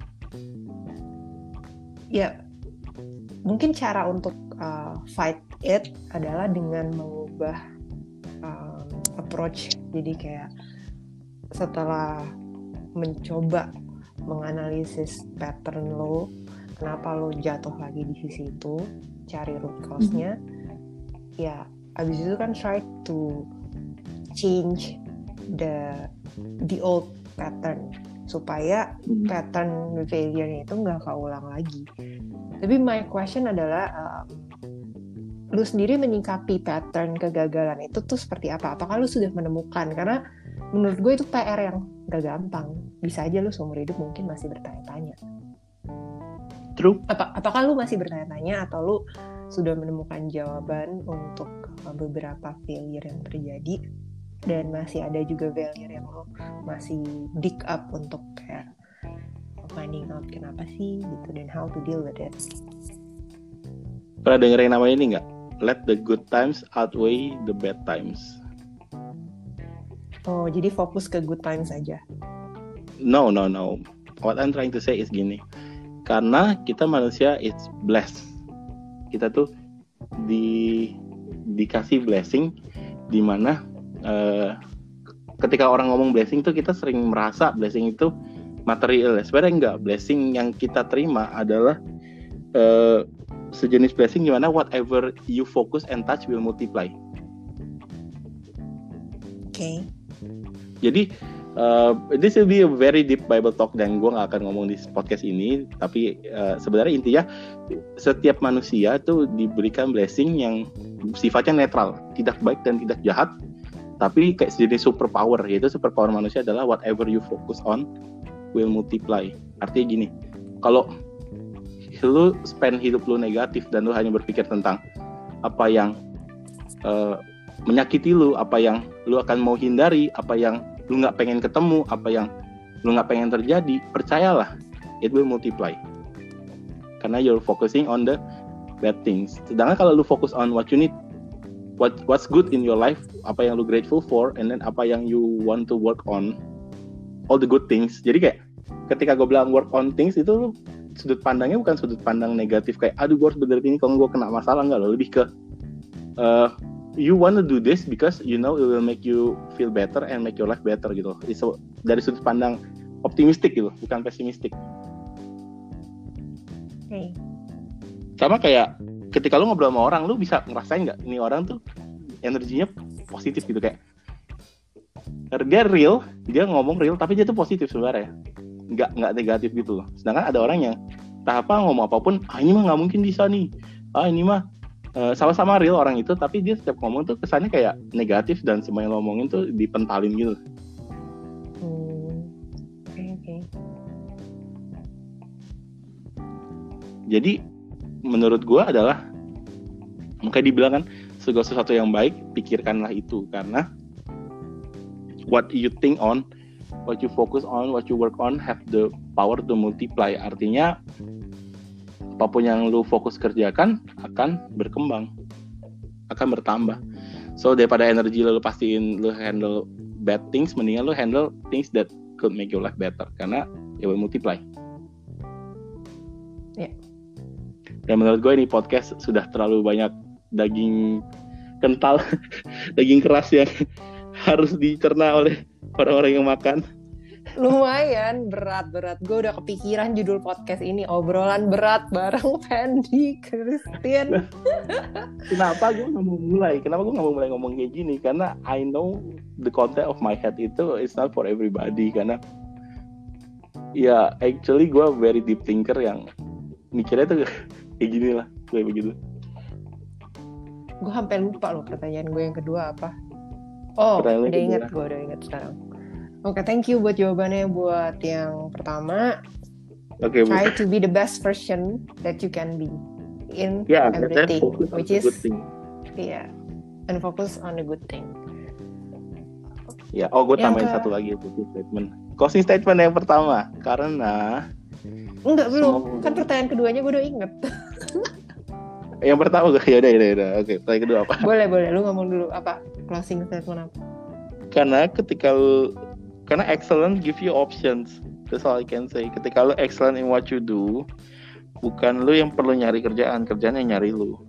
ya mungkin cara untuk uh, fight it adalah dengan mengubah um, approach. Jadi kayak setelah mencoba menganalisis pattern lo, kenapa lo jatuh lagi di sisi itu, cari root cause-nya, mm-hmm. ya abis itu kan try to change the the old pattern supaya mm-hmm. pattern failure-nya itu nggak keulang lagi. Tapi my question adalah uh, lu sendiri menyikapi pattern kegagalan itu tuh seperti apa? Apakah lu sudah menemukan? Karena menurut gue itu P R yang gak gampang. Bisa aja lu seumur hidup mungkin masih bertanya-tanya. True. Apa, apakah lu masih bertanya-tanya atau lu sudah menemukan jawaban untuk beberapa failure yang terjadi dan masih ada juga failure yang lu masih dig up untuk kayak finding out kenapa sih gitu dan how to deal with it. Pernah dengerin nama ini nggak? Let the good times outweigh the bad times. Oh, jadi fokus ke good times aja. No, no, no. What I'm trying to say is gini. Karena kita manusia is blessed. Kita tuh di dikasih blessing di mana uh, ketika orang ngomong blessing tuh kita sering merasa blessing itu material. Sebenarnya enggak. Blessing yang kita terima adalah uh, sejenis blessing di mana whatever you focus and touch will multiply. Oke. Okay. Jadi uh, this will be a very deep Bible talk dan gue nggak akan ngomong di podcast ini. Tapi uh, sebenarnya intinya setiap manusia tuh diberikan blessing yang sifatnya netral, tidak baik dan tidak jahat. Tapi kayak sejenis superpower, yaitu superpower manusia adalah whatever you focus on will multiply. Artinya gini, kalau lu spend hidup lu negatif dan lu hanya berpikir tentang apa yang uh, menyakiti lu, apa yang lu akan mau hindari, apa yang lu nggak pengen ketemu, apa yang lu nggak pengen terjadi, percayalah, it will multiply. Karena you're focusing on the bad things. Sedangkan kalau lu fokus on what you need, what what's good in your life, apa yang lu grateful for, and then apa yang you want to work on, all the good things. Jadi kayak ketika gue bilang work on things itu lu sudut pandangnya bukan sudut pandang negatif kayak aduh gue harus benerin ini kalau gue kena masalah, enggak loh, lebih ke uh, you want to do this because you know it will make you feel better and make your life better gitu. So, dari sudut pandang optimistik gitu, bukan pesimistik. Oke. Okay. Sama kayak ketika lu ngobrol sama orang, lu bisa ngerasain nggak ini orang tuh energinya positif gitu, kayak dia real, dia ngomong real tapi dia tuh positif sebenarnya, nggak nggak negatif gitu loh. Sedangkan ada orang yang entah apa ngomong apapun, ah ini mah nggak mungkin bisa nih, ah ini mah uh, sama-sama real orang itu, tapi dia setiap ngomong tuh kesannya kayak negatif dan semua yang ngomongin tuh dipentalin gitu. Hmm. Oke okay, oke. Okay. Jadi menurut gue adalah, makanya dibilang kan segala sesuatu yang baik pikirkanlah itu, karena what you think on, what you focus on, what you work on have the power to multiply. Artinya apapun yang lu fokus kerjakan akan berkembang, akan bertambah. So daripada energi lu pastiin lu handle bad things, mendingan lu handle things that could make your life better, karena it will multiply. Ya. Yeah. Dan menurut gue ini podcast sudah terlalu banyak daging kental, daging keras yang harus dicerna oleh orang-orang yang makan. Lumayan berat-berat. Gue udah kepikiran judul podcast ini, obrolan berat bareng Fendi Christian. Kenapa gue nggak mau mulai? Kenapa gue nggak mau mulai ngomong kayak gini? Karena I know the content of my head itu it's not for everybody. Karena ya actually gue very deep thinker yang mikirnya tuh kayak gini lah, kayak begitu. Gue sampai lupa loh pertanyaan gue yang kedua apa. Oh, udah inget, gue udah inget sekarang. Oke, okay, thank you buat jawabannya. Buat yang pertama, okay, try bu- to be the best version that you can be in yeah, everything, which is yeah, and focus on the good thing. Ya, yeah. Oh, gue tambahin ke... satu lagi closing statement. Closing statement yang pertama, karena enggak belum, kan pertanyaan keduanya gue udah inget. Yang pertama gue ya udah ya udah. Oke, pertanyaan kedua apa? Boleh boleh, lu ngomong dulu apa closing statement apa? Karena ketika lu, karena excellent give you options. That's all I can say. Ketika lu excellent in what you do, bukan lu yang perlu nyari kerjaan, kerjaan yang nyari lu.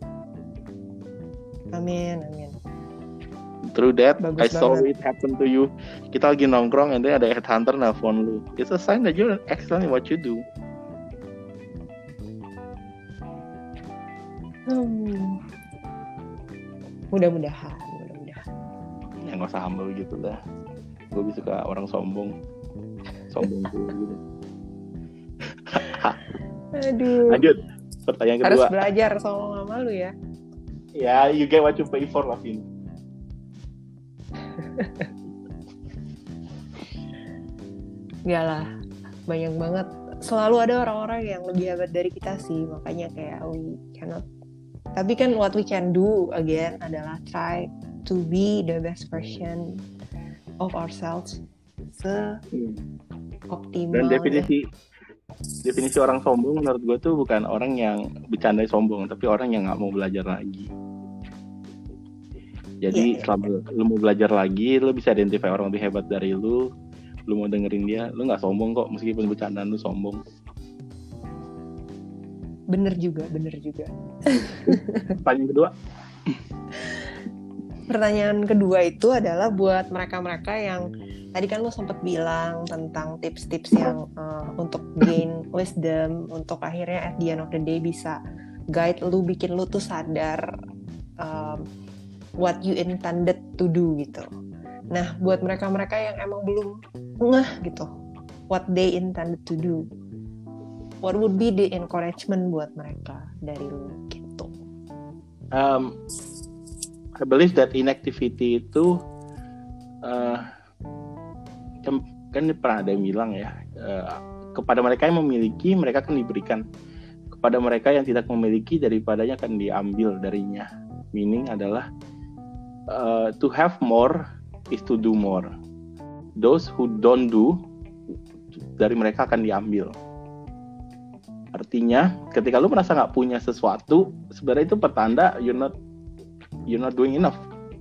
Amin, amin. Through that, bagus I saw banget. it happen to you. Kita lagi nongkrong, and then ada headhunter nelfon lu. It's a sign that you're excellent in what you do. Hmm. Mudah-mudahan, mudah-mudahan. Ya nggak usah humble gitu lah. Gue bisa suka orang sombong, sombong gitu. Aduh. Lanjut, pertanyaan kedua. Harus belajar sombong sama lu ya. Ya, you get what you pay for lah, Vin. Enggak lah, banyak banget. Selalu ada orang-orang yang lebih hebat dari kita sih, makanya kayak we cannot. Tapi kan what we can do again adalah try to be the best version of ourselves se-optimal. Dan definisi ya. definisi orang sombong menurut gue tuh bukan orang yang bercanda sombong, tapi orang yang nggak mau belajar lagi. Jadi yeah, selama yeah. lu mau belajar lagi, lu bisa identify orang lebih hebat dari lu. Lu mau dengerin dia, lu nggak sombong kok meskipun bercandaan lu sombong. Bener juga, bener juga. Pertanyaan kedua. Pertanyaan kedua itu adalah buat mereka-mereka yang tadi kan lu sempat bilang tentang tips-tips yang uh, untuk gain wisdom, untuk akhirnya at the end of the day bisa guide lu, bikin lu tuh sadar um, what you intended to do gitu. Nah, buat mereka-mereka yang emang belum ngeh gitu, what they intended to do, what would be the encouragement buat mereka dari lu gitu? Um, I believe that inactivity itu uh, kan, kan pernah ada yang bilang ya, uh, kepada mereka yang memiliki mereka akan diberikan, kepada mereka yang tidak memiliki daripadanya akan diambil darinya. Meaning adalah uh, to have more is to do more. Those who don't do, dari mereka akan diambil. Artinya ketika lu merasa nggak punya sesuatu, sebenarnya itu pertanda you're not you're not doing enough.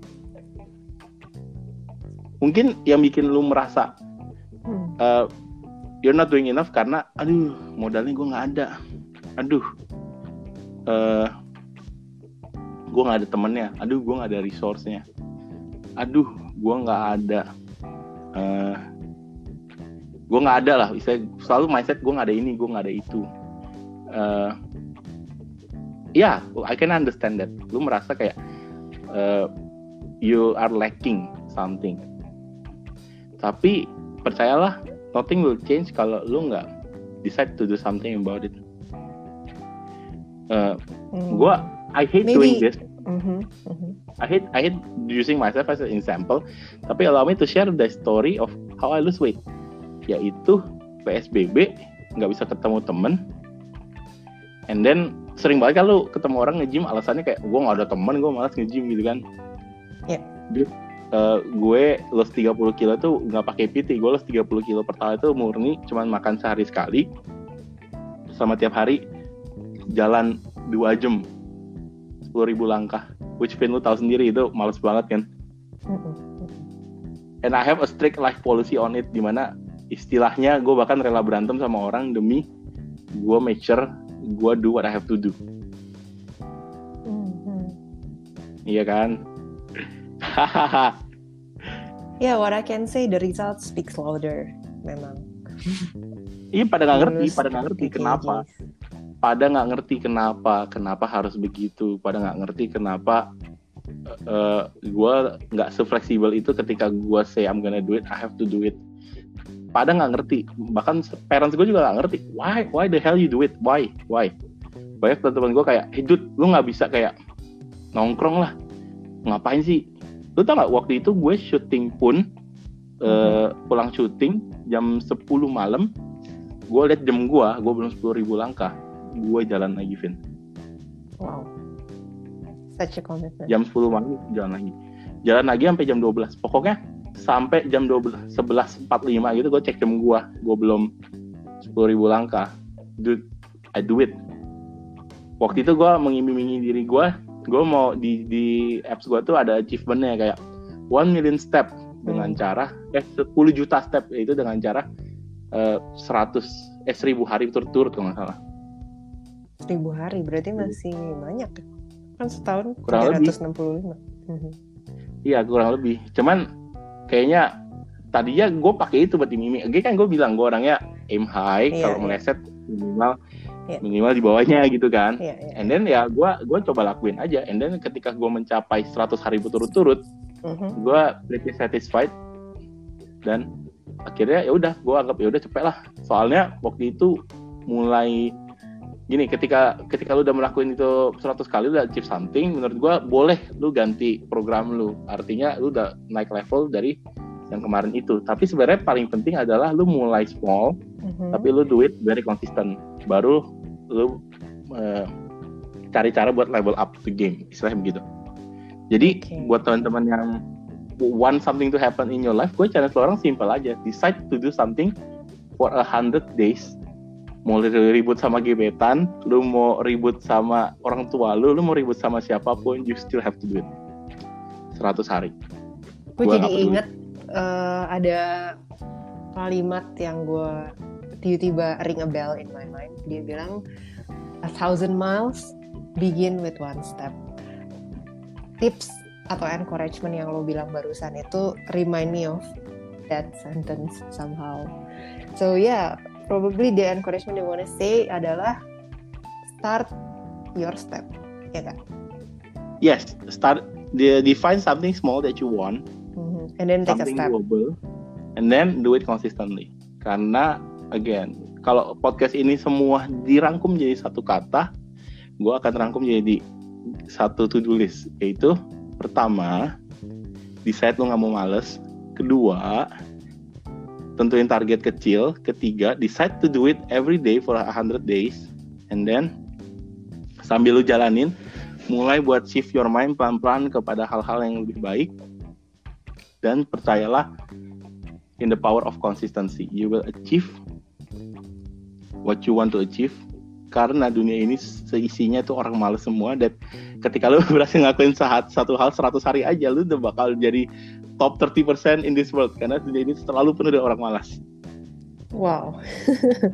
Mungkin yang bikin lu merasa uh, you're not doing enough karena aduh modalnya gue nggak ada, aduh uh, gue nggak ada temennya, aduh gue nggak ada resource-nya, aduh gue nggak ada uh, gue nggak ada lah, misalnya selalu mindset gue nggak ada ini, gue nggak ada itu. uh, ya yeah, I can understand that lu merasa kayak uh, you are lacking something, tapi percayalah nothing will change kalau lu nggak decide to do something about it. uh, mm. gue I hate Maybe. doing this. Mm-hmm. Mm-hmm. I hate I hate using myself as an example, tapi allow me to share the story of how I lose weight, yaitu P S B B, nggak bisa ketemu temen, and then sering banget kan lu ketemu orang nge-gym alasannya kayak gue nggak ada temen, gue malas nge-gym gitu kan. Yeah. Dude, uh, gue lost tiga puluh kilo tuh nggak pakai P T, gue lost tiga puluh kilo pertama itu murni cuman makan sehari sekali, sama tiap hari jalan dua jam sepuluh ribu langkah, which Vin lu tahu sendiri itu males banget kan. And I have a strict life policy on it, dimana istilahnya gue bahkan rela berantem sama orang demi gue make sure gue do what I have to do. Mm-hmm. Iya kan? Yeah, what I can say, the result speaks louder, memang. Iya, pada nggak ngerti, pada nggak ngerti kenapa. Pada nggak ngerti kenapa, kenapa harus begitu. Pada nggak ngerti kenapa uh, gue nggak se-fleksibel itu ketika gue say I'm gonna do it, I have to do it. Pada nggak ngerti, bahkan parents gue juga nggak ngerti. Why, why the hell you do it? Why, why? Banyak teman-teman gue kayak, hey dude, lu nggak bisa kayak nongkrong lah. Ngapain sih? Lu tau nggak? Waktu itu gue syuting pun, uh, pulang syuting jam sepuluh malam, gue liat jam gue, gue belum sepuluh ribu langkah. Gue jalan lagi, Vin. Wow. Such a commitment. Jam sepuluh malam jalan lagi. Jalan lagi sampai jam dua belas. Pokoknya sampai jam dua belas, sebelas empat puluh lima gitu gue cek jam gue. Gue belum sepuluh ribu langkah. Dude, I do it. Waktu itu gue mengiming-imingi diri gue. Gue mau di, di apps gue tuh ada achievementnya kayak one million step dengan hmm. cara, eh sepuluh juta step, itu dengan cara uh, seratus, eh seribu hari berturut-turut kalau nggak salah. Seribu hari berarti masih banyak kan, setahun kurang tiga ratus enam puluh lima. lebih. Iya kurang lebih. Cuman kayaknya tadinya gue pakai itu buat iming-iming. Oke kan gue bilang gue orangnya aim high, yeah, kalau yeah. meleset minimal yeah. minimal di bawahnya gitu kan. Yeah, yeah. And then ya gue gue coba lakuin aja. And then ketika gue mencapai seratus hari berturut-turut, uh-huh. gue pretty satisfied. Dan akhirnya ya udah gue anggap ya udah cepet lah. Soalnya waktu itu mulai gini, ketika ketika lu udah melakukan itu seratus kali, lu udah achieve something, menurut gua boleh lu ganti program lu. Artinya lu udah naik level dari yang kemarin itu. Tapi sebenarnya paling penting adalah lu mulai small, mm-hmm. tapi lu do it very consistent. Baru lu uh, cari cara buat level up the game, istilahnya begitu. Jadi okay. buat teman-teman yang want something to happen in your life, gue challenge lo orang simple aja. Decide to do something for a hundred days. Mau ribut sama gebetan, lu mau ribut sama orang tua lu, lu mau ribut sama siapapun, you still have to do it. seratus hari. Gue jadi inget uh, ada kalimat yang gue tiba-tiba ring a bell in my mind. Dia bilang, a thousand miles begin with one step. Tips atau encouragement yang lo bilang barusan itu remind me of that sentence somehow. So yeah, probably the encouragement they want to say adalah start your step, ya kan? Yes, start the define something small that you want, mm-hmm. and then take a step, doable, and then do it consistently. Karena again, kalau podcast ini semua dirangkum jadi satu kata, gue akan rangkum jadi satu to-do list, yaitu pertama, decide lo nggak mau males. Kedua, tentuin target kecil. Ketiga, decide to do it every day for one hundred days. And then sambil lu jalanin, mulai buat shift your mind pelan-pelan kepada hal-hal yang lebih baik. Dan percayalah in the power of consistency. You will achieve what you want to achieve. Karena dunia ini seisinya tuh orang malas semua. Dan ketika lu berhasil ngelakuin satu hal seratus hari aja, lu udah bakal jadi top thirty percent in this world, karena dunia ini terlalu penuh dengan orang malas. Wow.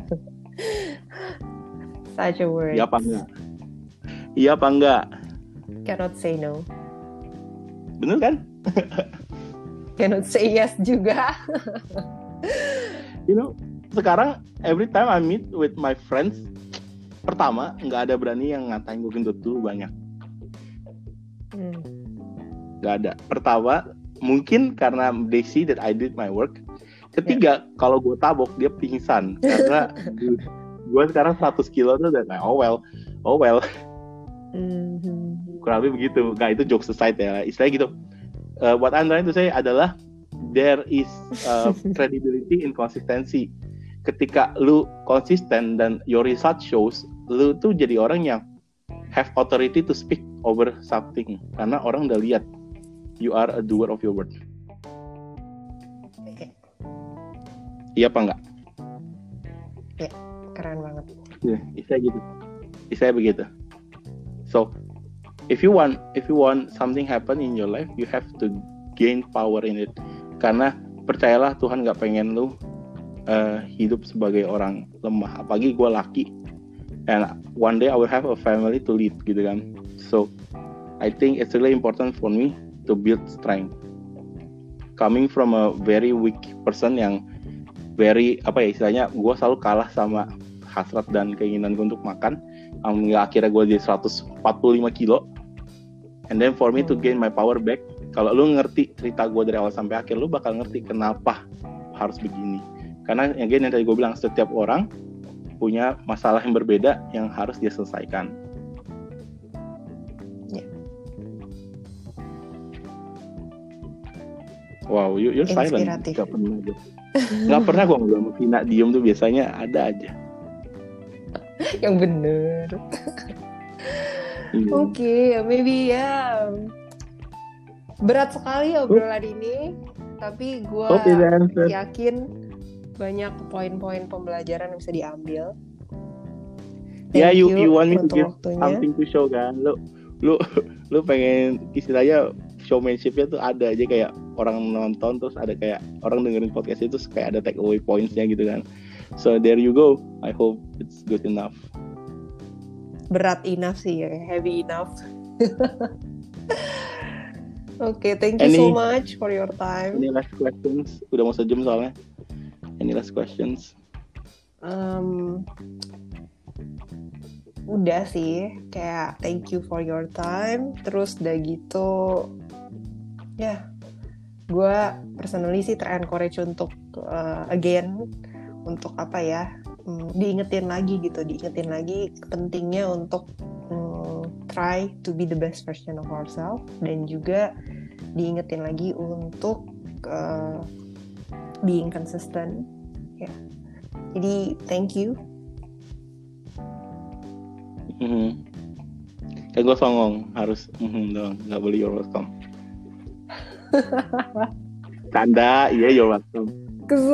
Such a word. Iya apa enggak? Iya apa enggak? Cannot say no. Bener kan? Cannot say yes juga. You know, sekarang every time I meet with my friends, pertama nggak ada berani yang ngatain gue gendut dulu banyak. Hmm. Nggak ada. Pertama mungkin karena they see that I did my work. Ketiga, yeah. Kalau gue tabok dia pingsan karena gue sekarang seratus kilo tuh udah kayak oh well, oh well. Mm-hmm. Kurang lebih begitu. Nah itu jokes aside ya. Istilahnya gitu. Uh, what I'm trying to say adalah there is uh, credibility in consistency. Ketika lu konsisten dan your result shows, lu tuh jadi orang yang have authority to speak over something karena orang udah lihat you are a doer of your word. Iya apa enggak? Ya, keren banget. Ya, bisa gitu. Bisa begitu. So, if you want, if you want something happen in your life, you have to gain power in it. Karena percayalah Tuhan nggak pengen lu uh, hidup sebagai orang lemah. Apalagi gue laki. And one day I will have a family to lead, gitu kan. So, I think it's really important for me to build strength. Coming from a very weak person yang very apa ya istilahnya gue selalu kalah sama hasrat dan keinginan gue untuk makan hingga akhirnya gue jadi seratus empat puluh lima kilo and then for me to gain my power back, kalau lu ngerti cerita gue dari awal sampai akhir lu bakal ngerti kenapa harus begini. Karena again yang tadi gue bilang setiap orang punya masalah yang berbeda yang harus dia selesaikan. Yeah. Wow, you, you're silent. Gak pernah aja. Gak pernah gue ngobrol sama Vina diem tuh biasanya ada aja. Yang bener. Hmm. Oke, okay, maybe ya berat sekali obrolan oh. ini, tapi gue yakin banyak poin-poin pembelajaran yang bisa diambil. Ya, yeah, you you want me to give waktunya. Something to show kan? Lu lu lu pengen istilahnya showmanship-nya tuh ada aja kayak orang nonton terus ada kayak orang dengerin podcast itu kayak ada take away points-nya gitu kan. So there you go. I hope it's good enough. Berat enough sih ya, heavy enough. Oke, okay, thank you any, so much for your time. Any last questions? Udah mau sejam soalnya. Any last questions? Um, udah sih, kayak thank you for your time. Terus udah gitu, ya, yeah, gue personally sih ter-encourage untuk uh, again, untuk apa ya, um, diingetin lagi gitu, diingetin lagi pentingnya untuk um, try to be the best version of ourselves, dan juga diingetin lagi untuk uh, being consistent. Ya, yeah. Jadi thank you. Mm-hmm. Kayak gue songong harus mm-hmm dong, nggak boleh you're welcome. Tanda, iya you're welcome.